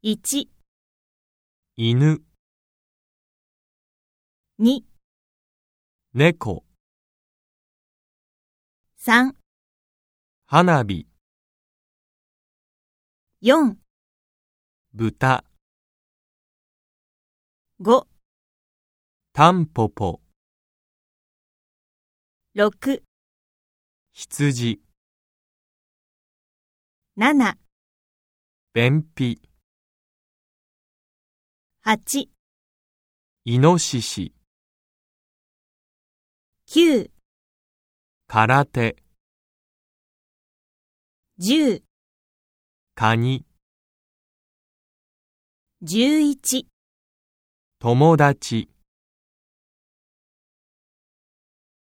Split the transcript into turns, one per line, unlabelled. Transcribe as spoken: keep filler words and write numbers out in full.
いち、
犬、
に、
猫、
さん、
花火、
よん、
豚、
ご、
タンポポ、
ろく、
羊、
なな、
便秘、
はち、
イノシシ、
きゅう、
空手、
じゅう、
カニ、
じゅういち。
友達。